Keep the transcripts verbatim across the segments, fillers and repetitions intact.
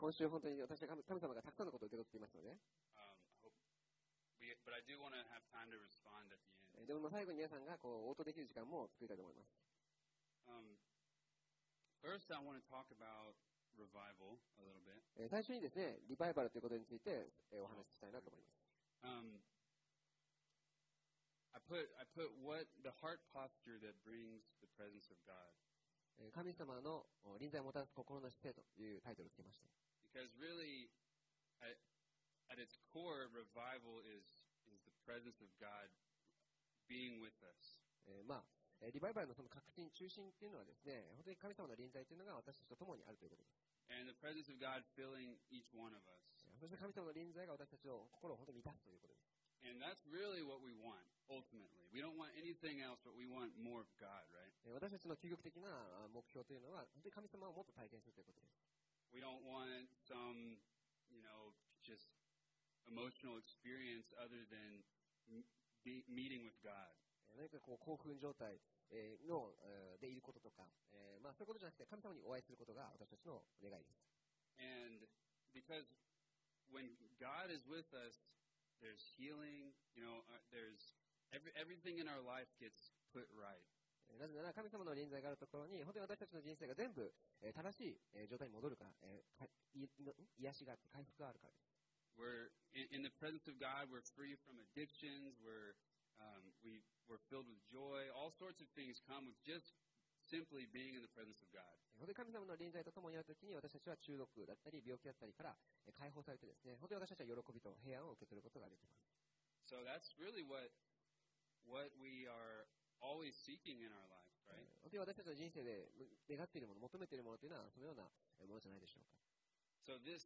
今週本当に私は神様がたくさんのことを受け取っていますので、 Um, I hope we, but I do want to have time to respond at the end. でも最後に皆さんがこう応答できる時間も作りたいと思います。 Um, first, I want to talk about revival a little bit. えー最初にですね、リバイバルということについて、えーお話ししたいなと思います。 Um, I put I put what the heart posture that brings the presence of God. えー神様のお臨在をもたらす心の姿勢というタイトルをつけました。 Because really, at, at its core, revival is is the presence of God being with us. えーまあ、えーリバイバルのその核心、中心っていうのはですね、本当に神様の臨在というのが私たちと共にあるということです。 And the presence of God filling each one of us. そして神様の臨在が私たちの心を本当に満たすということです。 And that's really what we want, ultimately. We don't want anything else, but we want more of God, right? えー私たちの究極的なあ目標というのは、本当に神様をもっと体験するということです。 We don't want some, you know, just emotional experience other than m- be, meeting with God. えー何かこう興奮状態えーのえーでいることとか、えーまあ、そういうことじゃなくて神様にお会いすることが私たちの願いです。 And because when God is with us, there's healing, you know, uh, there's every, everything in our life gets put right. えーなぜなら神様の臨在があるところに本当に私たちの人生が全部、えー正しい、えー状態に戻るから、えーかいいの癒しがあって回復があるからです。 We're in, in the presence of God, we're free from addictions, we're, um, we, we're filled with joy, all sorts of things come with just simply being in the presence of God. 本当に神様の臨在とともにあるときに私たちは中毒だったり病気だったりからえー解放されてですね、本当に私たちは喜びと平安を受け取ることができます。 So that's really what, what we are always seeking in our life, え right? ー本当に私たちの人生で願っているもの、求めているものというのはそのようなえーものじゃないでしょうか。 So this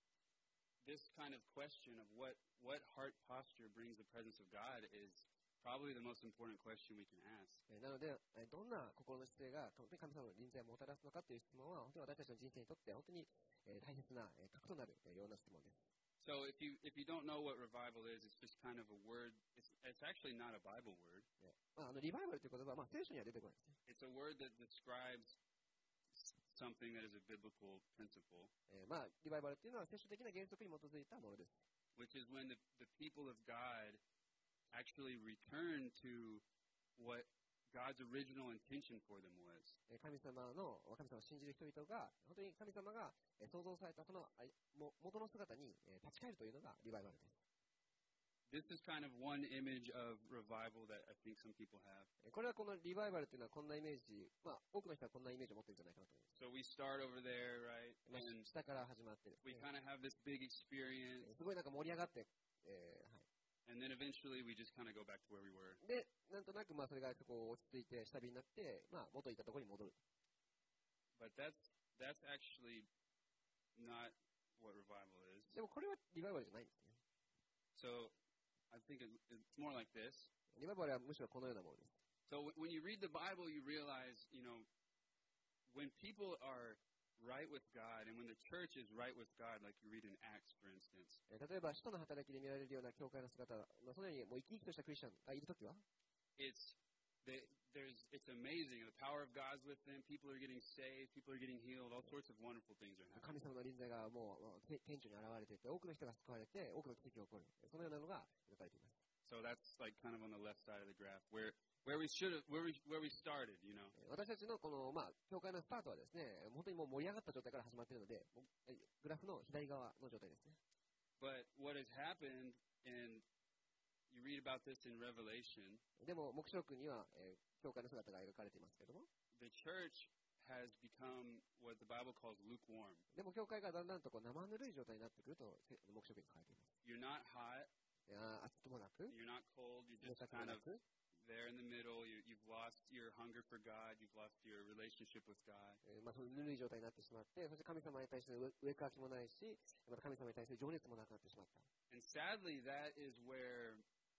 this kind of question of what, what heart posture brings the presence of God is probably the most important question we can ask. えーなので、えーどんな心の姿勢が本当に神様の臨在をもたらすのかという質問は、本当に私たちの人生にとって本当にえー大切なえー核となるえーような質問です。 So if you if you don't know what revival is, it's just kind of a word. It's, it's actually not a Bible word. えーまあ、あのリバイバルという言葉は、まあ、聖書には出てこないですね。 It's a word that describes something that is a biblical principle, えーまあ、リバイバルというのは聖書的な原則に基づいたものです。 which is when the, the people of God actually return to what God's original intention for them was. えー神様の神様を信じる人々が本当に神様がえー創造されたそのあも元の姿にえー立ち返るというのがリバイバルです。 This is kind of one image of revival that I think some people have. えーこれはこのリバイバルというのはこんなイメージ、まあ、多くの人はこんなイメージを持っているんじゃないかなと思います。 So we start over there, right? まあ And 下から始まってです we ね、 kind of have this big え experience, ーすごいなんか盛り上がって、えーはい、 and then eventually we just kind of go back to where we were. で、なんとなくまあそれがこう落ち着いて下火になって、まあ、元いたところに戻る。 But that's that's actually not what revival is. でもこれはリバイバルじゃないんですね。 So I think it, it's more like this. リバイバルはむしろこのようなものです。 So w- when you read the Bible, you realize, you know, when people are right with God and when the church is right with God, like you read in Acts, for instance, えー例えば、使徒の働きで見られるような教会の姿、まあ、そのようにもう生き生きとしたクリスチャンがいるときは、 it's they, there's it's amazing. The power of God's with them. People are getting saved. People are getting healed. All sorts of wonderful things are 神 happening. 様の臨在がもうもうて天地に現れていて、多くの人が救われて、多くの奇跡が起こる。そのようなのが描かれています。 So that's like kind of on the left side of the graph, where where we should have where we where we started. You know. えー私たちのこの、まあ、教会のスタートはですね、本当にもう盛り上がった状態から始まっているので、もうえグラフの左側の状態ですね。 But what has happened, and you read about this in Revelation, でも、黙示録には、えー教会の姿が描かれていますけれども、 the church has become what the Bible calls lukewarm. でも教会がだんだんとこう生ぬるい状態になってくると、せ黙示録に書いています。 You're not hot, いやー暑くもなく、 you're not cold, you're 冷 just たくも kind な of く、 there in the middle. You, you've lost your hunger for God, you've lost your relationship with God. えーまあ、そのぬるい状態になってしまって、そして神様に対しての上かきもないし、また神様に対する情熱もなくなってしまった。 And sadly, that is where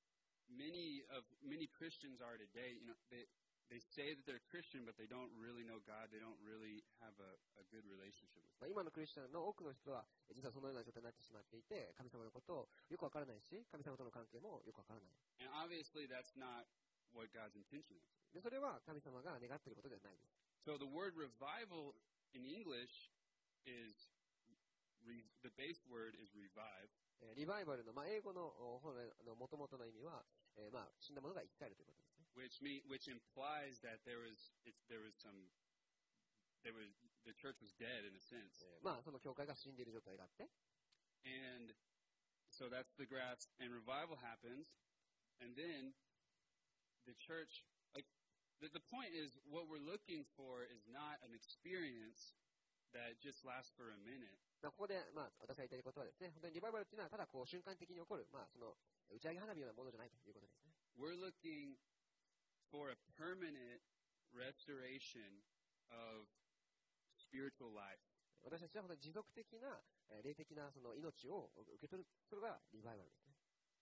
many of many Christians are today. You know, they they say that they're Christian, but they don't really know God. They don't really have a, a good relationship with まあ、今のクリスチャンの多くの人は、えー実はそのような状態になってしまっていて、神様のことをよくわからないし、神様との関係もよくわからない。 God. And obviously, that's not what God's intention is. でそれは神様が願っていることではないです。 So the word revival in English is re, the base word is revive. リバイバルの、まあ、英語の本来の元々の意味は、えー、まあ、死んだものが生き返るということですね。 Which mean, which implies that there was, it, there was some, there was, the church was dead in a sense. えー、まあ、その教会が死んでいる状態があって。 And so that's the grasp. And revival happens, and then the church, like, the, the point is, what we're looking for is not an experience that just lasts for a minute. ここで、まあ、私が言いたいことはですね、本当にリバイバルというのは、ただこう瞬間的に起こる、まあ、その打ち上げ花火のようなものじゃないということですね。 We're looking for a permanent restoration of spiritual life. 私たちは本当に持続的な、霊的なその命を受け取る、それがリバイバルですね。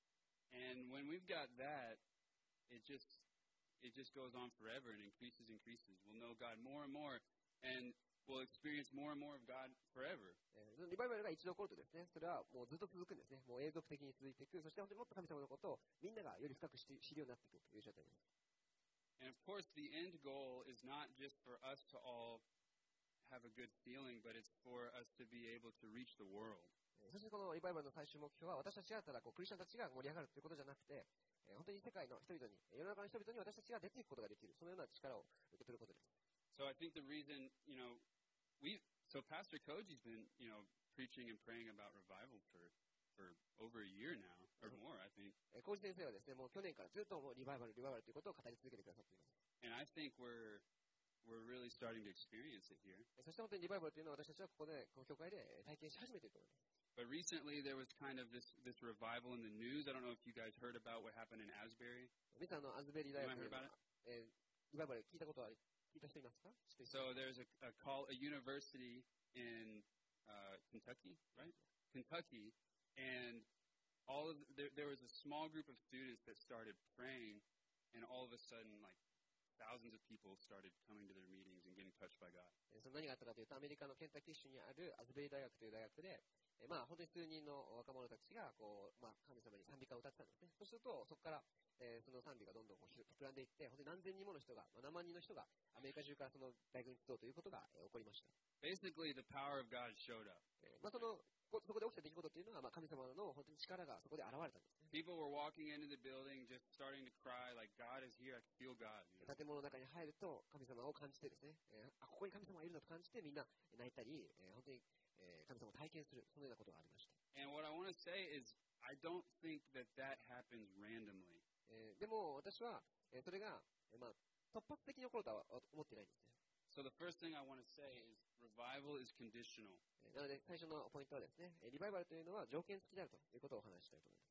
And when we've got that, it just it just goes on forever and increases, increases. We'll know God more and more, and we'll experience more and more of God forever. リバイバルが一度起こるとですね、それはもうずっと続くんですね。もう永続的に続いていく。そして本当にもっと神様のことをみんながより深く知るようになっていくという状態です。 And of course, the end goal is not just for us to all have a good feeling, but it's for us to be able to reach the world. そしてこのリバイバルの最終目標は私たちがただこうクリスチャンたちが盛り上がるということじゃなくて、本当に世界の人々に、世の中の人々に私たちが出ていくことができる、そのような力を受け取ることです。 So I think the reason, you know, we so Pastor Koji's been, you know, preaching and praying about revival for for over a year now or more, I think. コージ先生はですね、もう去年からずっともうリバイバルリバイバルということを語り続けてくださっています。 And I think we're we're really starting to experience it here. そして本当にリバイバルというのは私たちはここでこの教会で体験し始めていると思います。 But recently there was kind of this this revival in the news. I don't know if you guys heard about what happened in Asbury. 皆さんのアズベリー大学で、えー、リバイバル聞いたことは聞いた人いますか？ So there's a, a call a university in uh, Kentucky, right? Kentucky, and all of there, there was a small group of students that started praying, and all of a sudden, like thousands of people started coming to their meetings and getting touched by God. その何があったかというと、アメリカのケンタッキー州にあるアズベリー大学という大学で、えー、まあ本当に数人の若者たちがこう、まあ、神様に賛美歌を歌ってたんですね。そうするとそこから、えー、その賛美がどんどんこう膨らんでいって、本当に何千人もの人が、まあ、何万人の人がアメリカ中からその大学に集うということが、えー、起こりました。 Basically, the power of God showed up. えー、まあそのそこで起きた出来事というのは、まあ、神様の本当に力がそこで現れたんですね。 People were walking into the building, just starting to cry, like God is here. I can feel God. You know? 建物の中に入ると神様を感じてですね、えー、あここに神様がいるんだと感じてみんな泣いたり、えー、本当に、えー、神様を体験するそのようなことがありました。 And what I want to say is, I don't think that that happens randomly. えー、でも私は、えー、それが、えー、まあ突発的に起こるとは思っていないんですね。 So the first thing I want to say is revival is conditional. なので最初のポイントはですね、リバイバルというのは条件付きであるということをお話ししたいと思います。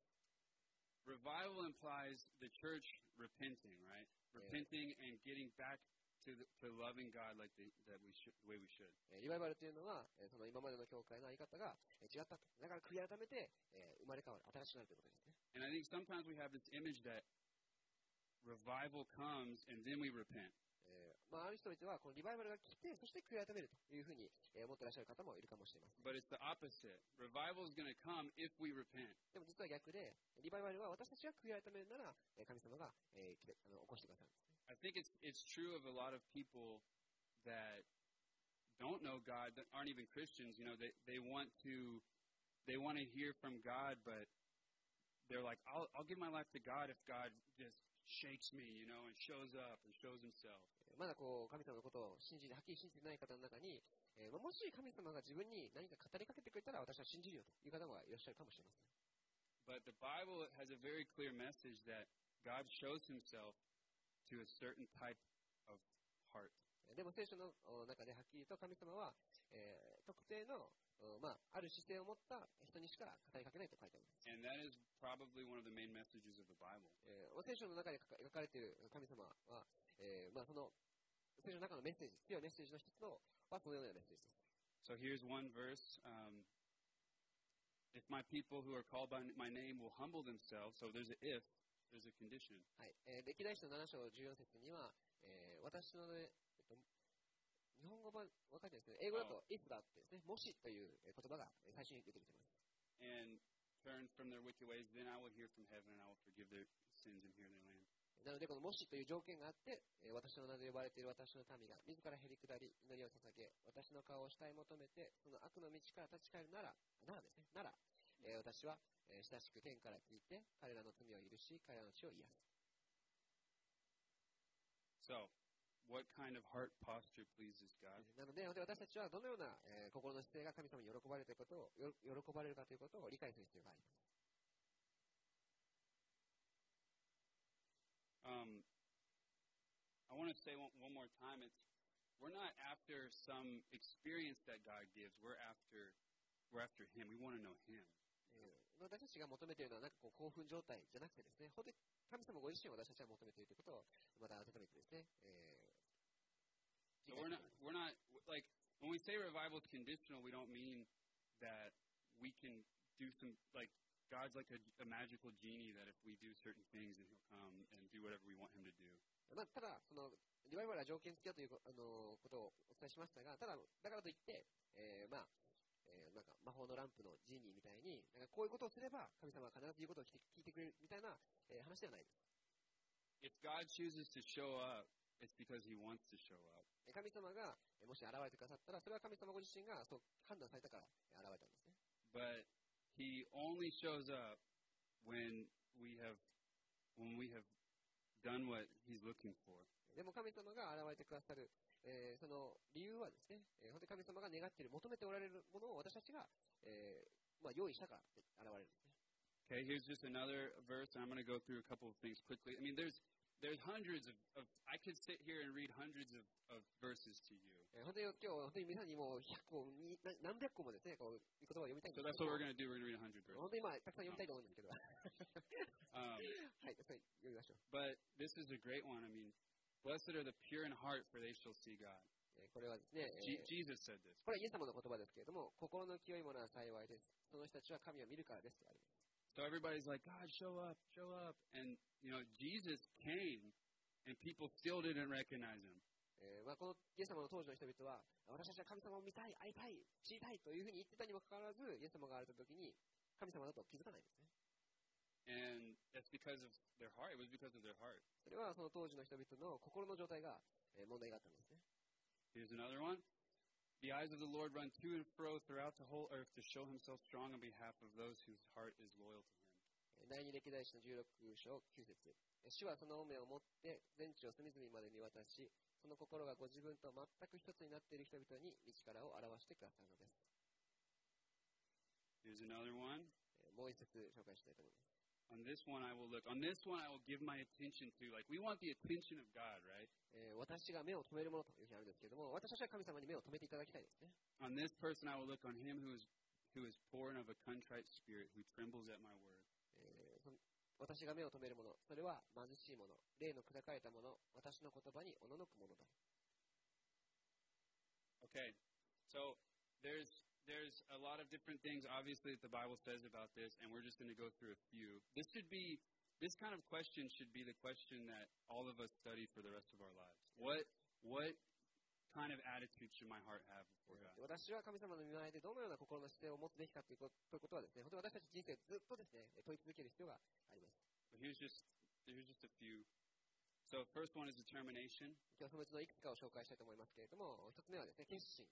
Revival implies the church repenting, right? Repenting and getting back to the, to loving God like the, that we should, the way we should. リバイバルというのは、その今までの教会の在り方が違ったと。だから悔い改めて生まれ変わる、新しくなるということですね。 And I think sometimes we have this image that revival comes and then we repent. まあ、ある人々はこのリバイバルが来て、そして悔い改めるというふうに思っていらっしゃる方もいるかもしれません。 But it's the opposite. Revival is going to come if we repent. でも実は逆で、リバイバルは私たちが悔い改めるなら、神様が、えー、来てあの起こしてくださるんですね。 I think it's it's true of a lot of people that don't know God, that aren't even Christians. You know, they they want to they want to hear from God, but they're like, I'll I'll give my life to God if God just shakes me, you know, and shows up and shows Himself. まだこう神様のことを信じてはっきり信じてない方の中に、えー、もし神様が自分に何か語りかけてくれたら私は信じるよという方がいらっしゃるかもしれません。 But the Bible has a very clear message that God shows Himself to a certain type of heart. でも聖書の中ではっきりと神様は、えー、特定の、まあ、ある姿勢を持った人にしか語りかけないと書いてあります。 And that is probably one of the main messages of the Bible. えー、聖書の中で描かれている神様は、えーまあ、その聖書の中のメッセージ、強いメッセージの一つのはそのようなメッセージです。 So here's one verse. Um, if my people who are called by my name will humble themselves, so there's a if, there's a condition. はい、えー、歴代史のなな章じゅうよん節には、えー、私の、ねえっと、日本語版わかんないですけど、英語だと if があってですね、もしという言葉が最初に出てきています。 And turn from their wicked ways, then I will hear from heaven and I will forgive their sins and heal their land. なので、このもしという条件があって、えー私の名で呼ばれている私の民が自らへり下り、祈りを捧げ、私の顔を慕い求めて、その悪の道から立ち返るなら、ならですね、なら、えー私は、えー親しく天から聞いて、彼らの罪を許し、彼らの血を癒す。 So, what kind of heart posture pleases God? なので、私たちはどのような、えー心の姿勢が神様に喜ばれるということを、よ喜ばれるかということを理解する必要があります。 Um, I want to say one, one more time, it's, we're not after some experience that God gives. We're after, we're after Him. We want to know Him. えー私たちが求めているのは、なんかこう興奮状態じゃなくてですね、本当に神様ご自身を私たちは求めているということを、また改めてですね、えー So we're not, we're not, like, when we say revival is conditional, we don't mean that we can do some, like, God's like a, a magical genie that if we do certain things, then He'll come and do whatever we want Him to do. まあ、ただ、そのリバイバルは条件付きだというあのことをお伝えしましたが、ただ、だからといって、えーまあえーなんか魔法のランプのジーニーみたいに、なんかこういうことをすれば神様は必ず言うことを聞いて聞いてくれるみたいな、えー話ではないです。 If God chooses to show up, it's because He wants to show up. 神様がえーもし現れてくださったら、それは神様ご自身がそう判断されたからえー現れたんですね。 But He only shows up when we have, when we have done what He's looking for. でも神様が現れてくださる、えーその理由はですね、えー本当に神様が願っている、求めておられるものを私たちが、えーまあ、用意したから現れるんですね。 Okay, here's just another verse, and I'm going to go through a couple of things quickly. I mean, there's there's hundreds of, of I could sit here and read hundreds of, of verses to you. えー本当に今日、本当に皆さんにもうひゃっこ、にな何百個もですね、こういう言葉を読みたいん So です that's け what ど we're going to do. We're going to read one hundred verses. 本当に今、たくさん読みたいと思うんですけど、は Um, い、たくさん読みましょう。 but this is a great one. I mean, blessed are the pure in heart, for they shall see God. えーこれはですね、え Je- ー Jesus said this. これはイエス様の言葉ですけれども、心の清いものは幸いです。その人たちは神を見るからですとあります。 So everybody's like, God, show up, show up. And, you know, Jesus came, and people still didn't recognize Him. えーまあ、このイエス様の当時の人々は、私たちは神様を見たい、会いたい、知りたいというふうに言ってたにもかかわらず、イエス様が現れた時に神様だと気づかないんですね。 And that's because of their heart. It was because of their heart. それはその当時の人々の心の状態が、えー問題があったんですね。 Here's another one. The eyes of the Lord run to and fro throughout the whole earth to show Himself strong on behalf of those whose heart is loyal to Him. 第二歴代史のじゅうろく章きゅう節。主はその目を持って全地を隅々まで見渡し、その心がご自分と全く一つになっている人々に道からを表してくださるのです。 Here's another one. えーもう一節紹介したいと思います。 On this one I will look. On this one I will give my attention to. Like, we want the attention of God, right? えー私が目を留めるものというふうにあるんですけれども、私たちは神様に目を留めていただきたいですね。 On this person I will look, on him who is who is poor and of a contrite spirit, who trembles at my word. えーその私が目を留めるもの、それは貧しいもの、霊の砕かれたもの、私の言葉におののくものだ。 Okay, so there's there's a lot of different things, obviously, that the Bible says about this, and we're just going to go through a few. This should be this kind of question should be the question that all of us study for the rest of our lives. What what kind of attitude should my heart have before God? 私は神様の御前でどのような心の姿勢を持つべきかということということはですね、本当に私たち人生ずっとですね、問い続ける必要があります。 But here's just here's just a few. So first one is determination. 今日そのうちのいくつかを紹介したいと思いますけれども、一つ目はですね、決心。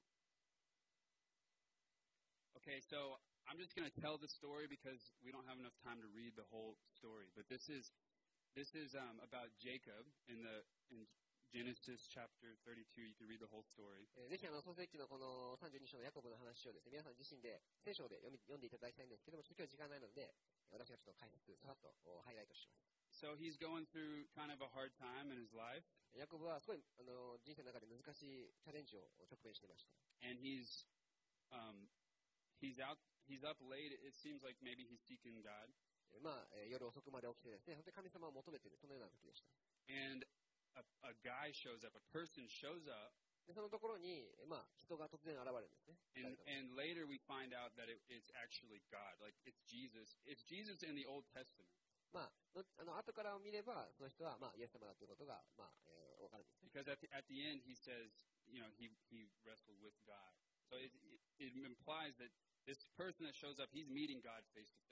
Okay, so I'm just going to tell the story because we don't have enough time to read the whole story. But this is this is um, about Jacob in the in Genesis chapter thirty-two. You can read the whole story. えーぜひあの創世記のこのさんじゅうに章のヤコブの話をですね、皆さん自身で聖書で読み読んでいただきたいんですけども、ちょっと今日時間ないので、私がちょっと解説、さらっとハイライトします。 So he's going through kind of a hard time in his life, ヤコブはすごいあの人生の中で難しいチャレンジを直面していました。 and he's um, he's out. He's up late. It seems like maybe he's seeking God. えーまあ、えー夜遅くまで起きてですね、本当に神様を求めている、そのような時でした。 And a, a guy shows up. A person shows up, でそのところに、えーまあ、人が突然現れるんですね。 and and later we find out that it, it's actually God. Like it's Jesus. It's Jesus in the Old Testament. まあ、のあの後から見れば、その人は、まあ、イエス様だということが、まあえー、分かるんですね。 Because at the, at the end he says, you know, he, he wrestled with God. So it, it, it implies that this person that shows up, he's meeting God face to face.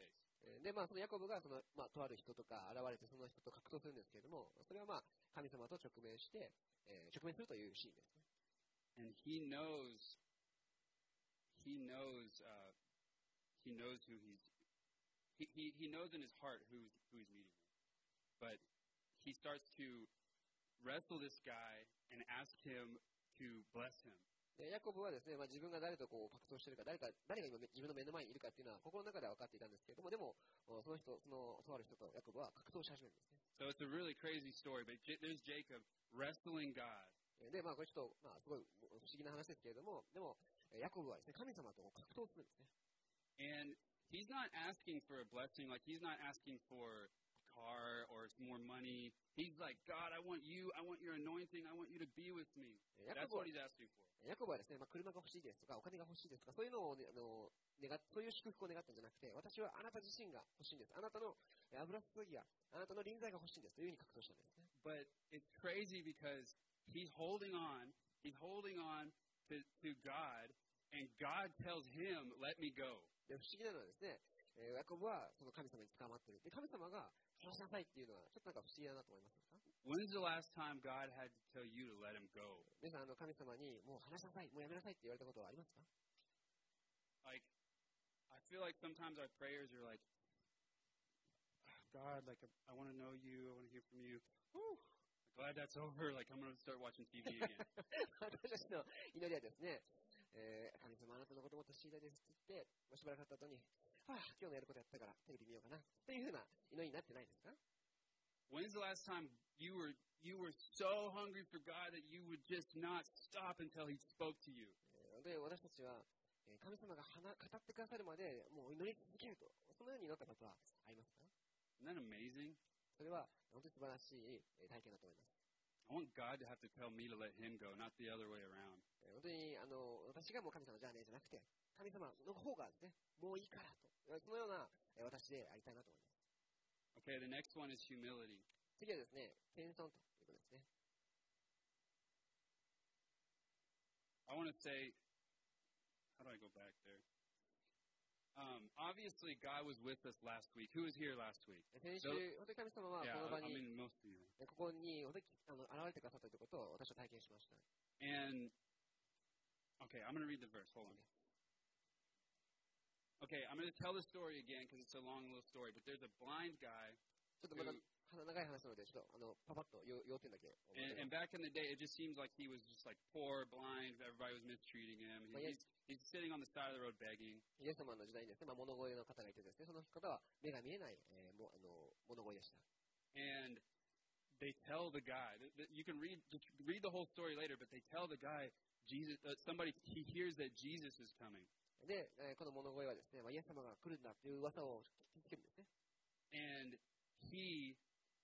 で、まあ、そのヤコブがその、まあ、とある人とか現れてその人と格闘するんですけれども、それはまあ、神様と直面して、えー、直面するというシーンですね。 And he knows, he knows, uh, he knows who he's, he, he, he knows in his heart who's, who he's meeting with. But he starts to wrestle this guy and ask him to bless him. でヤコブはですね、まあ、自分が誰とこう格闘しているか、誰か、誰が今自分の目の前にいるかっていうのは心の中では分かっていたんですけれども、でも、その人、その、とある人とヤコブは格闘し始めるんですね。 So it's a really crazy story, but J- there's Jacob wrestling God. で、まあ、これちょっと、まあ、すごい不思議な話ですけれども、でも、ヤコブはですね、神様と格闘するんですね。 And he's not asking for a blessing, like he's not asking for car or more money. He's like, God, I want you, I want your anointing, I want you to be with me. That's what he's asking for. ヤコブはですね、まあ、車が欲しいですとか、お金が欲しいですとか、そういうのを、ね、あの願っそういう祝福を願ったんじゃなくて、私はあなた自身が欲しいんです。あなたの油注ぎや、あなたの臨在が欲しいんですというふうに格闘したんですね。 But it's crazy because he's holding on, he's holding on to, to God, and God tells him, let me go. で不思議なのはですね、えー、ヤコブはその神様に捕まっている。で、神様が話しなさいっていうのは、ちょっとなんか不思議だなと思いますか？ When's the last time God had to tell you to let him go? 皆さん、あの神様にもう話しなさい、もうやめなさいって言われたことはありますか？ Like, I feel like sometimes our prayers are like, God, like, I want to know you, I want to hear from you. Whew, glad that's over. Like, I'm going to start watching T V again. 私たちの祈りはですね、えー、神様あなたのこともっと知りたいですって言って、もうしばらく経った後に、はあ、今日のやることやったからテレビ見ようかなというふうな祈りになってないですか？ When's the last time you were you were so hungry for God that you would just not stop until He spoke to you? で、私たちは神様が語ってくださるまでもう祈り続けると、そのように祈ったことはありますか？ Isn't that amazing? それは本当に素晴らしい体験だと思います。 I want God to have to tell me to let Him go, not the other way around. 本当にあの私がもう神様じゃねえじゃなくて、神様の方がですね、もういいからと、そのような私でありたいなと思います。 Okay, the next one is humility. 次はですね、謙遜ということですね。 I want to say, how do I go back there? Um, obviously, God was with us last week. Who was here last week? 先週、本当に神様はこの場に、 yeah, I mean, most of you. ここに本当にあの現れてくださったということを私は体験しました。 And, okay, I'm going to read the verse. Hold on. Okay, I'm going to tell the story again because it's a long little story. But there's a blind guy. ちょっとまだ長い話なので、ちょっとあのパパッと要点だけ。 And, and back in the day, it just seems like he was just like poor, blind. Everybody was mistreating him. He, he's, he's sitting on the side of the road begging. イエス様の時代にですね、まあ物乞いの方がいてですね、その方は目が見えない、えー、もあの物乞いでした。 And they tell the guy. You can read just read the whole story later, but they tell the guy, Jesus. Uh, somebody he hears that Jesus is coming. で、えー、この物乞いはですね、まあ、イエス様が来るんだという噂を聞きつけるんですね。 And he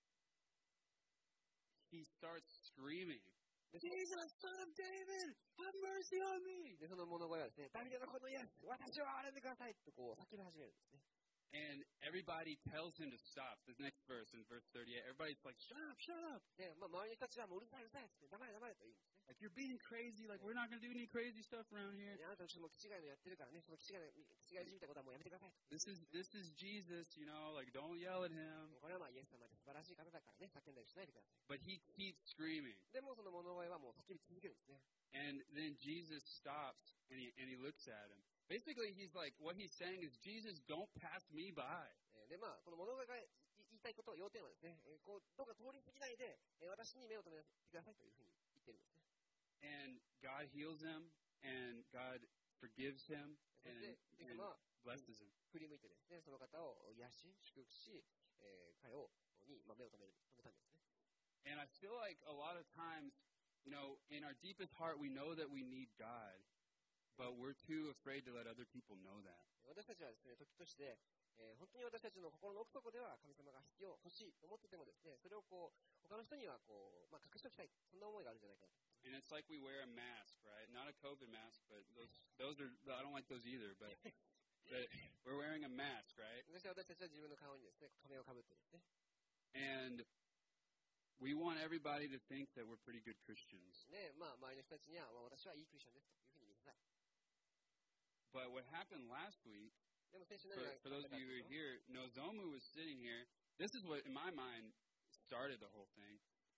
he starts screaming, Jesus, son of David, have mercy on me. で、その物乞いはですね、ダビデの子のイエス、私を憐れんでくださいとこう叫び始めるんですね。 And everybody tells him to stop. The next verse, in verse thirty-eight, everybody's like, shut up, shut up. で、まあ、周りの人たちはもううるさいうるさいって、黙れ黙れと言うんですね。 Like, you're being crazy. Like, we're not going to do any crazy stuff around here. あなたたちも気違いのやってるからね、その気違いの気違いじみたことはもうやめてくださいと。 This is, this is Jesus, you know, like, don't yell at him. これはまあイエス様で素晴らしい方だからね、叫んだりしないでください。 But he keeps screaming. でもその物乞いはもう叫び続けるんですね。 And then Jesus stops and he, and he looks at him. Basically, he's like, what he's saying is, Jesus, don't pass me by. で、まあ、この物乞いが言いたいこと、要点はですね、こうどうか通り過ぎないで、私に目を留めてくださいというふうに言ってるんですね。 And God heals him, and God forgives him, and, and blesses him. 振り向いてですね、その方を癒し、祝福し、えー、彼をに、まあ、目を留める、留めたんですね。 And I feel like a lot of times, you know, in our deepest heart, we know that we need God, but we're too afraid to let other people know that. 私たちはですね、時として、えー、本当に私たちの心の奥底では神様が必要、欲しいと思っててもですね、それをこう他の人にはこう、まあ、隠しておきたい、そんな思いがあるんじゃないかなと。 And it's like we wear a mask, right? Not a COVID mask, but those those are I don't like those either. But but we're wearing a mask, right? そして私たちは自分の顔にですね、仮面をかぶってですね。 And we want everybody to think that we're pretty good Christians. ね、まあ周りの人たちには、まあ、私はいいクリスチャンですというふうに見せたい。 But what happened last week? でも先週何 For, が for those of you who are here, Nozomu was sitting here. This is what, in my mind, started the whole thing.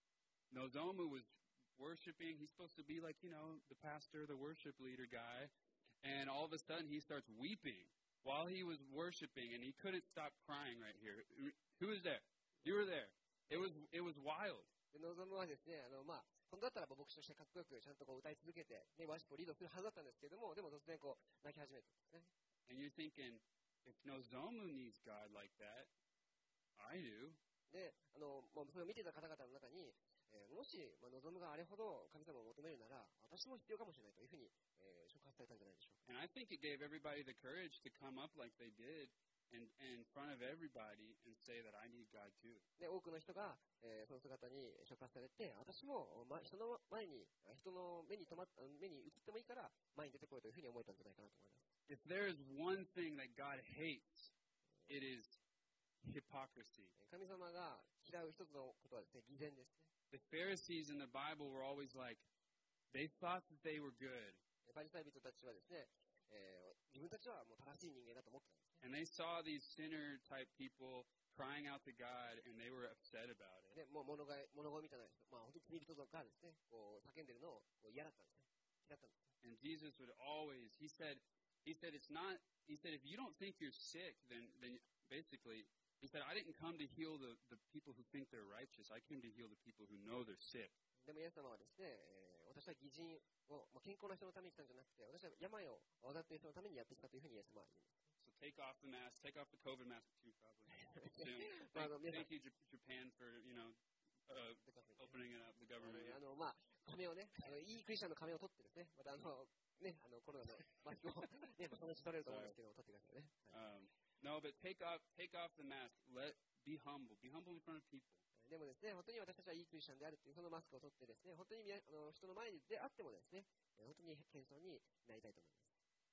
Nozomu was worshiping. He's supposed to be like, you know, the pastor, the worship leader guy. And all of a sudden, he starts weeping while he was worshiping, and he couldn't stop crying right here. Who was there? You were there. It was, it was wild. で望むはですね、あの、まあ、本当だったら牧師としてかっこよくちゃんとこう歌い続けて、ね、ワーシップをリードするはずだったんですけれども、でも突然こう泣き始めたんですね。 And you're thinking, if Nozomu needs God like that, I do. で、あの、まあ、それを見ていた方々の中に、えー、もし、まあ、望むがあれほど神様を求めるなら、私も必要かもしれないというふうに、えー、触発されたんじゃないでしょうか。 And I think it gave everybody the courage to come up like they did and, and in front of everybody and say that I need God too. で、多くの人が、えー、その姿に触発されて、私も、ま、人の前に、人の目に留まっ、目に映ってもいいから前に出てこいというふうに思えたんじゃないかなと思います。 If there is one thing that God hates, it is hypocrisy. 神様が嫌う一つのことはですね、偽善ですね。 The Pharisees in the Bible were always like, they thought that they were good. パリサイ人たちはですね、えー、自分たちはもう正しい人間だと思ってたんですね。 And they saw these sinner type people crying out to God, and they were upset about it. で、もう物乞い、物乞いみたいな人、まあ本当に罪人がですね、こう叫んでるのをこう嫌だったんですね。嫌だったんです。 And Jesus would always, he said, he said, it's not, he said, if you don't think you're sick, then, then basically, he said, I didn't come to heal the, the people who think they're righteous. I came to heal the people who know they're sick. でもイエス様はですね、えー、私は義人を、まあ、健康な人のために来たんじゃなくて、私は病を患っている人のためにやってきたというふうにイエス様は言うんです。 So take off the mask, take off the COVID mask too, probably. Soon. Well, Thank, yeah. thank you, J- Japan, for, you know, uh, opening it up, the あ government. の、あのまあ、仮面をね、あのいいクリスチャンの仮面を取ってですね、またあの、ね、あのコロナのマスクを、ね、そのうち取れると思うんですけど、取ってくださいね。はい、 Um, no, but take off, take off the mask. Let be humble. Be humble in front of people. でもですね、本当に私たちはいいクリスチャンであるというそのマスクを取ってですね、本当にあの人の前であってもですね、本当に謙遜になりたいと思います。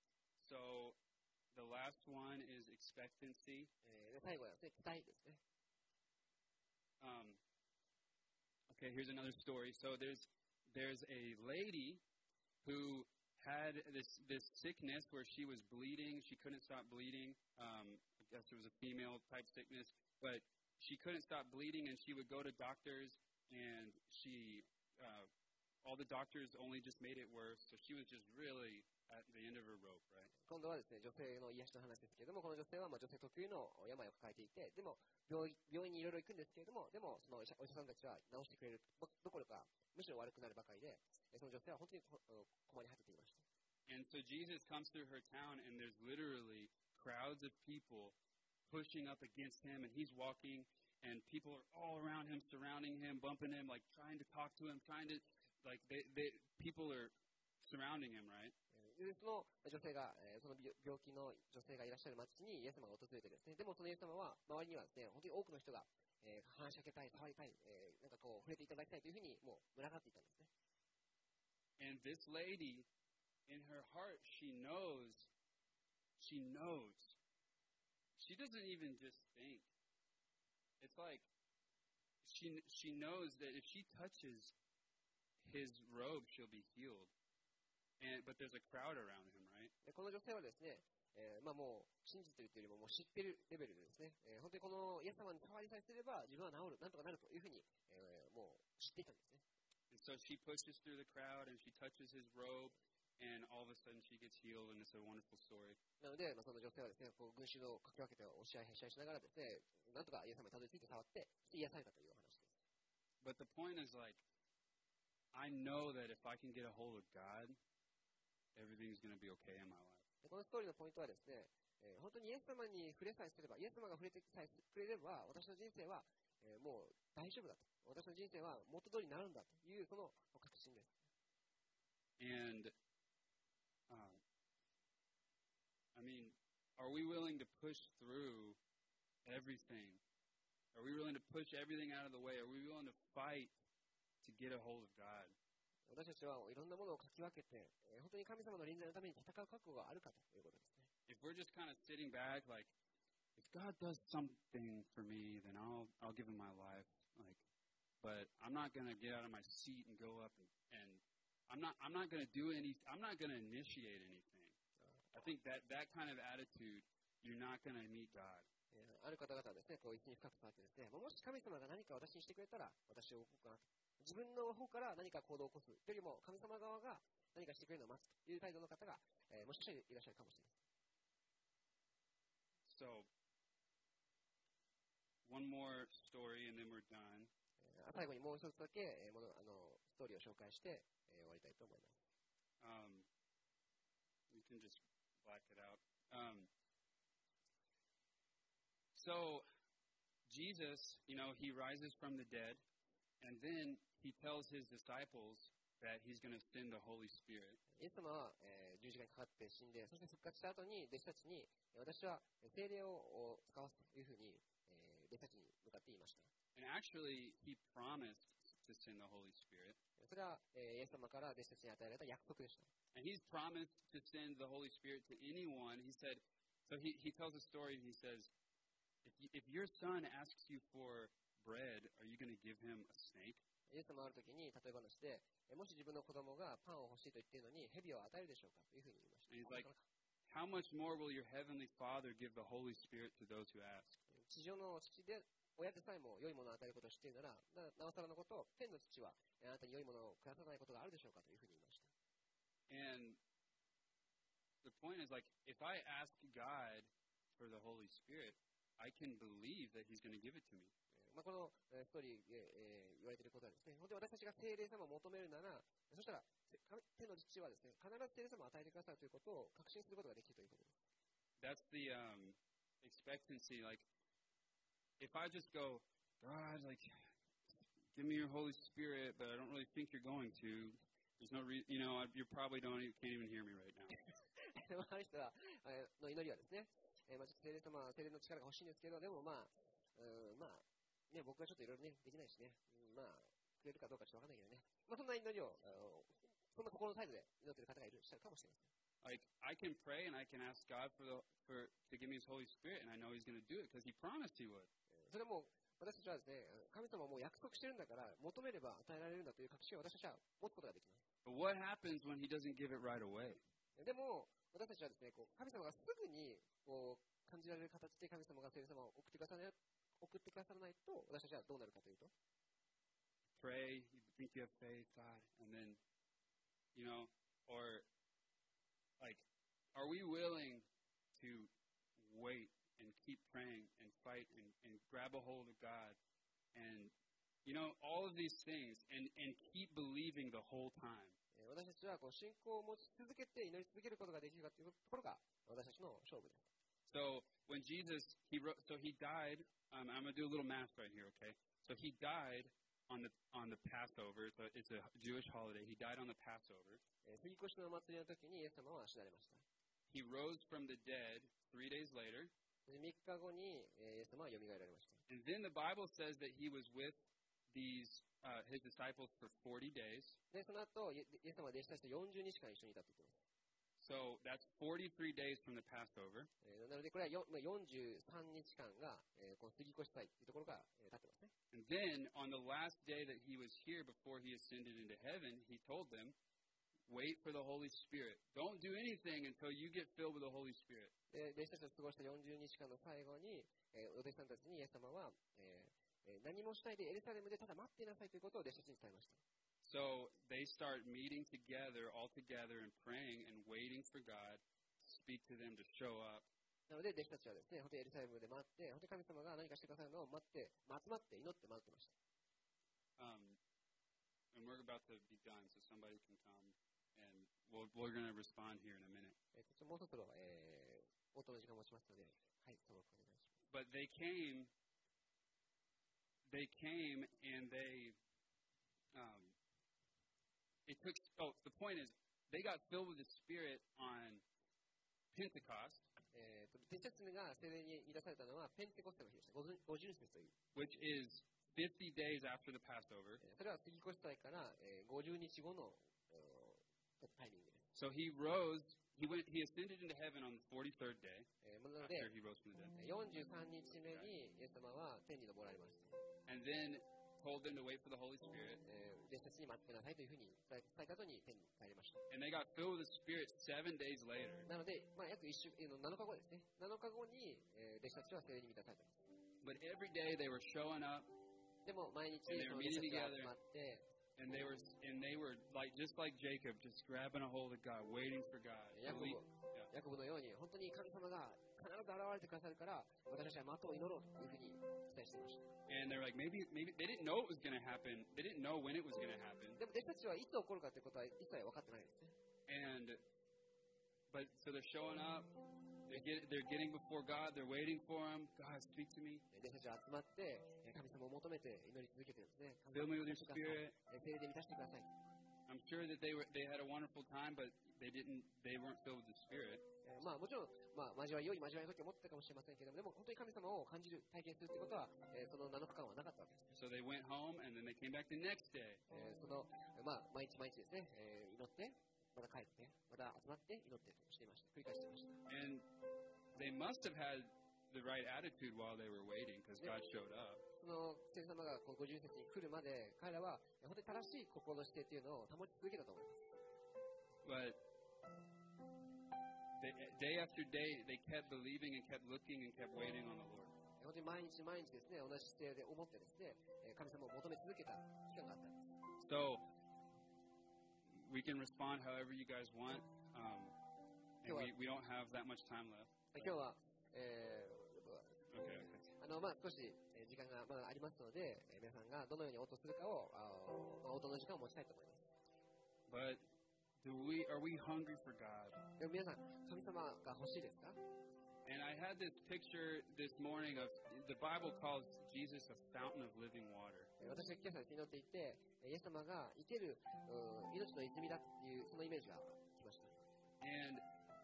So the last one is expectancy. えー、で最後はですね、期待ですね。 Um, okay, here's another story. So there's there's a lady who had this this sickness where she was bleeding. She couldn't stop bleeding. Um, I guess it was a female type sickness, but she couldn't stop bleeding, and she would go to doctors, and she uh, all the doctors only just made it worse. So she was just really at the end of her rope, right? 今度はですね、女性の癒しの話ですけれども、この女性はまあ女性特有の病を抱えていて、でも病院病院にいろいろ行くんですけれども、でもそのお医者お医者さんたちは治してくれるどどころか、むしろ悪くなるばかりで、その女性は本当にこ困り果てていました。 And so Jesus comes through her town, and there's literally crowds of people pushing up against him, and he's walking, and people are all around him, surrounding him, bumping him, like trying to talk to him, trying to, like, they, they, people are surrounding him, right? でその女性が、えー、その病気の女性がいらっしゃる町にイエス様が訪れてですね、でもそのイエス様は周りにはですね、本当に多くの人が、えー、話しかけたい、触りたい、えー、なんかこう触れていただきたいというふうにもう群がっていたんですね。 And this lady, in her heart, she knows, she knows. She doesn't even just think. It's like she she knows that if she touches his robe, she'll be healed. And, but there's a crowd around him, right? でこの女性はですね、えーまあ、もう信じているというよりももう知っているレベルでですね、えー、本当にこのイエス様に触りさえすれば自分は治る、なんとかなるというふうに、えー、もう知っていたんですね。 And so she pushes through the crowd and she touches his robe, and all of a sudden she gets healed, and it's a wonderful story. なので、まあ、その女性はですね、こう群衆をかき分けて押し合いへし合いしながらですね、なんとかイエス様にたどり着いて触って、癒されたというお話です。 But the point is, like, I know that if I can get a hold of God, everything's going to be okay in my life. でこのストーリーのポイントはですね、えー、本当にイエス様に触れさえすれば、イエス様が触れてさえくれれば、私の人生は、えー、もう大丈夫だと。私の人生は元通りになるんだという、その確信です。 And, um, I mean, are we willing to push through everything? Are we willing to push everything out of the way? Are we willing to fight to get a hold of God? 私たちはいろんなものをかき分けて、えー、本当に神様の臨在のために戦う覚悟があるかということですね。 If we're just kind of sitting back, like, if God does something for me, then I'll I'll give him my life. Like, but I'm not gonna get out of my seat and go up and, and I'm not I'm not gonna do any I'm not gonna initiate anything. I think that that kind of attitude you're not going to meet God. えーある方々はですね、こう椅子に深く座ってですね、もし神様が何か私にしてくれたら、私を動こうかなと。自分の方から何か行動を起こすよりも、神様側が何かしてくれるのを待つという態度の方が、えーもしかしたらいらっしゃるかもしれません。 So, one more story and then we're done. えー最後にもう一つだけ、えーものあのストーリーを紹介して、えー終わりたいと思います。 Um, you can just black it out. Um, so, Jesus, you know, he rises from the dead, and then he tells his disciples that he's going to send the Holy Spirit. イエス様は、えー十字架にかかって死んで、そして復活した後に弟子たちに、私は聖霊を使わすというふうに、えー弟子たちに向かって言いました。 And actually, he promised to send the Holy Spirit. それは、えーイエス様から弟子たちに与えられた約束でした。 And he's promised to send the Holy Spirit to anyone. He said, so he, he tells a story, and he says, if, you, if your son asks you for bread, are you going to give him a snake? イエス様はある時に例え話で、えもし自分の子供がパンを欲しいと言っているのに、蛇を与えるでしょうかというふうに言いました。 And he's like, how much more will your heavenly Father give the Holy Spirit to those who ask? 地上の父で、親でさえも良いものを与えることを知っているなら、ななおさらのことを、天の父はあなたに良いものをくださらないことがあるでしょうかというふうに言いました。 And the point is, like, if I ask God for the Holy Spirit, I can believe that he's going to give it to me. まあ、このえーストーリーで、えー言われていることはですね、本当に私たちが聖霊様を求めるなら、そしたら、せ神天の父はですね、必ず聖霊様を与えてくださるということを確信することができるということです。 That's the um, expectancy. Like, if I just go, God, like, give me your Holy Spirit, but I don't really think you're going to. There's no reason, you know, you probably don't, you can't even hear me right now. ある人はえーの祈りはですね、えーまあ、ちょっと聖霊様、聖霊の力が欲しいんですけど、でもまあ、うんまあ、ね、僕はちょっといろいろね、できないしね、うんまあ、くれるかどうかちょっとわかんないけどね、まあ、そんな祈りを、あのそんな心の態度で祈っている方がいるしたかもしれません。 Like, I can pray and I can ask God for the for to give me His Holy Spirit, and I know He's going to do it because He promised He would. それも私たちはですね、神様はもう約束してるんだから、求めれば与えられるんだという確信を私たちは持つことができます。 But what happens when He doesn't give it right away? でも、私たちはですね、こう神様がすぐにこう感じられる形で神様が聖霊様を送ってくださらない送ってくださらないと、私たちはどうなるかというと、 Pray, you think you have faith, God, and then, you know, or like, are we willing to wait and keep praying and fight and, and grab a hold of God and, you know, all of these things and, and keep believing the whole time? えー私たちはこう信仰を持ち続けて祈り続けることができるかというところが私たちの勝負です。 So when Jesus, he wrote, so he died. Um, I'm gonna do a little math right here, okay? So he died on the on the Passover. It's a, it's a Jewish holiday. He died on the Passover. えー杉越のお祭りの時にイエス様は死なれました。 He rose from the dead three days later. でみっかごに、えーイエス様は蘇られました。 And then the Bible says that he was with these uh, his disciples for forty days. で、その後、イエイエス様は弟子たちとよんじゅうにちかん一緒にいたと言っています。 So that's forty-three days from the Passover. えーなので、これはよまあよんじゅうさんにちかんが、えーこの杉越祭というところが、えー経ってますね。 And then on the last day that he was here before he ascended into heaven, he told them, wait for the Holy Spirit. Don't do anything until you get filled with the Holy Spirit. で、弟子たちと過ごしたよんじゅうにちかんの最後に、えーお弟子さんたちにイエス様は、えーえー何もしないでエルサレムでただ待っていなさいということを弟子たちに伝えました。 So they start meeting together, all together, and praying and waiting for God to speak to them, to show up. なので、弟子たちはですね、本当にエルサレムで待って、本当に神様が何かしてくださるのを待って、集まって祈って待ってました。 Um, and we're about to be done, so somebody can come, and we'll, we're going to respond here in a minute. えーちょっともうそろそろ、えー、応答の時間を持ちますので、はい、そのお願いします。 But they came, they came, and they, um, it took, oh, the point is, they got filled with the Spirit on Pentecost, えーと弟子たちが聖霊に満たされたのはペンテコステの日でした。五五旬節という。 which is fifty days after the Passover. えーそれは杉越祭から、えー、ごじゅうにちごの、えータイミングです。 So he rose, he went, he ascended into heaven on the forty-third day えーなので、 after he rose from the dead. よんじゅうさんにちめにイエス様は天に昇られました。 And then told them to wait for the Holy Spirit. えー、弟子たちに待ってくださいというふうに伝え伝えた後に天に帰りました。 And they got filled with the Spirit seven days later. なので、まあ、約一週、えーなのかごですね。なのかごに、えー、弟子たちは聖霊に満たされています。 But every day they were showing up, でも毎日そ And they の were 弟子 meeting たちが together. 集まって、 and they were and they were like just like Jacob, just grabbing a hold of God, waiting for God. ヤコブ Believe- ヤコブのように本当に神様が必ず現れてくださるから私たちは的を祈ろうというふうに期待していました。 And they're like, maybe, maybe they didn't know it was going to happen. They didn't know when it was going to happen. でも弟子たちはいつ起こるかということは一切分かってないんですね。 And but so they're showing up. They get they're getting before God. They're waiting for Him. God, speak to me. 弟子たちは集まって神様を求めて祈り続けてるんですね。 Fill me with your 神様を Spirit. 聖霊で満たしてください。 I'm sure that they were they had a wonderful time, but they didn't. They weren't filled with the Spirit. えーまあ、もちろん、まあ、交わり良い交わりの時を持ってたかもしれませんけども、でも本当に神様を感じる、体験するということは、えーそのなのかかんはなかったわけです。 So they went home, and then they came back the next day. えーその、まあ、毎日毎日ですね、えー祈って、また帰って、また集まって祈ってとしていました。繰り返していました。 And they must have had the right attitude while they were waiting, because God showed up. その聖様がこうごじゅう節に来るまで、彼らは本当に正しい心の姿勢というのを保ち続けたと思います。 But they, day after day, they kept believing and kept looking and kept waiting on the Lord. 本当に毎日毎日ですね、同じ姿勢で思ってですね、えー神様を求め続けた期間があったんです。 So we can respond however you guys want. Um, and we, we don't have that much time left. 今日は、えー Okay, okay. あのまあ、少しえー時間がまだありますので、えー皆さんがどのように応答するかを、あーまあ応答の時間を持ちたいと思います。 But do we are we hungry for God? でも皆さん、神様が欲しいですか？ And I had this picture this morning of the Bible calls Jesus a fountain of living water. えー私は今朝祈っていて、えーイエス様が生けるうん命の泉だっていうそのイメージが来ました。 And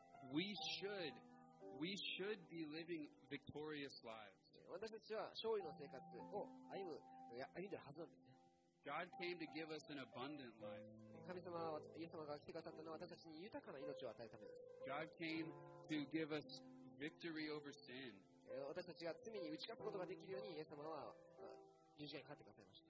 we should we should be living victorious lives. 私たちは勝利の生活を歩む、いや歩んでるはずなんですね。 God came to give us an abundant life. 神様は、イエス様が来てくださったのは私たちに豊かな命を与えるためです。 God came to give us victory over sin. えー私たちが罪に打ち勝つことができるように、イエス様はあ十字架にかかってくださいました。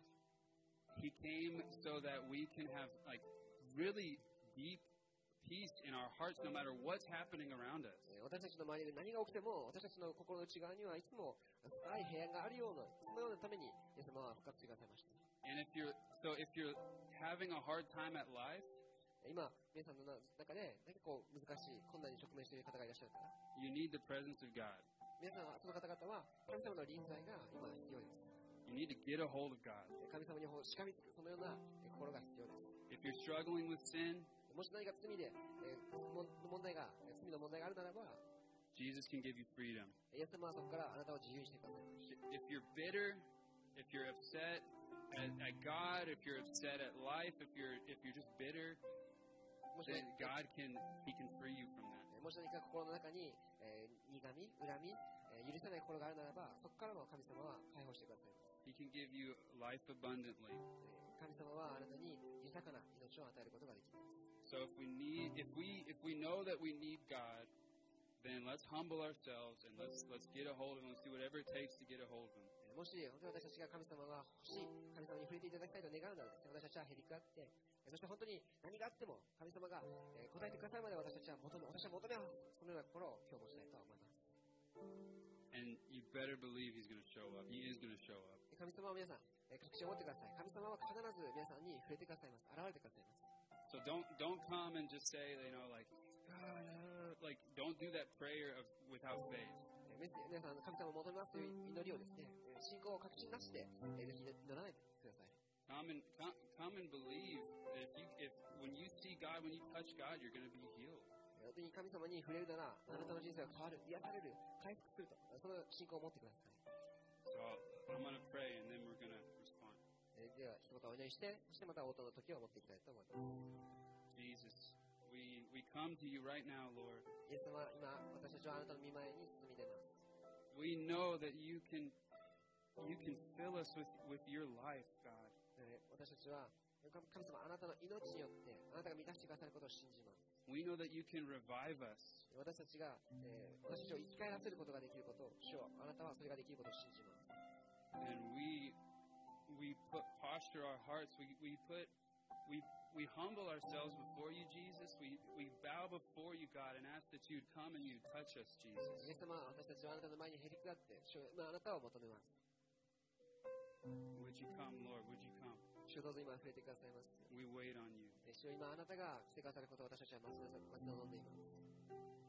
He came so that we can have like really deep peace in our hearts no matter what's happening around us. えー私たちの周りで何が起きても、私たちの心の内側にはいつも深い平安があるような、そのようなために、イエス様は復活してくださいました。 And if you're so if you're having a hard time at life, 今、皆さんの中で何かこう難しい困難に直面している方がいらっしゃるから、 you need the presence of God. 皆さん、その方々は神様の臨在が今必要です。 You need to get a hold of God. 神様にしかみつく、そのような心が必要です。 If you're struggling with sin, もし何か罪で、えー、も問題が、罪の問題があるならば、 Jesus can give you freedom. イエス様はそこからあなたを自由にしてください。 If you're bitter, if you're upset at, at God, if you're upset at life, if you're if you're just bitter, もし then 何 God can He can free you from that. もし何か心の中に、えー、苦み、恨み、えー許せない心があるならば、そこからも神様は解放してくださいます。 He can give you life abundantly. えー神様はあなたに豊かな命を与えることができます。 So if we need, if we, if we know that we need God, then let's humble ourselves and let's let's get a hold of Him. Let's do whatever it takes to get a hold of Him. えーもし本当に私たちが神様が欲しい、神様に触れていただきたいと願うならですね、私たちはへりくだって、えーそして本当に何があっても神様が、えー答えてくださるまで私たちは求め、私は求めます。そのような心を今日持ちたいと思います。 And you better believe He's going to show up. He is going to show up. 神様は皆さん、えー確信を持ってください。神様は必ず皆さんに触れてくださいます。現れてくださいます。 So don't don't come and just say, you know, like, God, uh, like don't do that prayer of without faith. えー皆さん、神様を求めますという祈りをですね、えー信仰を確信なしで、えーぜひ祈らないでください。 Come and come, come and believe that if you if when you see God, when you touch God, you're going to be healed. 本当に神様に触れるなら、あなたの人生が変わる、癒される、回復すると、その信仰を持ってください。 So I'm going to pray and then we're going to respond. えーでは、一言お祈りして、そしてまた応答の時を持っていきたいと思います。 Jesus, we we come to you right now, Lord. イエス様、今、私たちはあなたの御前に進み出ます。 We know that you can you can fill us with with your life, God. えー私たちは、神様、あなたの命によって、あなたが満たしてくださることを信じます。 We know that you can revive us. 私たちが、えー私たちを生き返らせることができることを、主よ、あなたはそれができることを信じます。 And we we put posture our hearts. We we put we we humble ourselves before you, Jesus. We we bow before you, God, and ask that you'd come and you'd touch us, Jesus. イエス様、私たちはあなたの前にへりくだって、主まあ、あなたを求めます。 Would you come, Lord? Would you come? 主どうぞ今触れてくださいます。 We wait on you. 主よ今あなたがしてくださることを私たちは待ち望んでいます。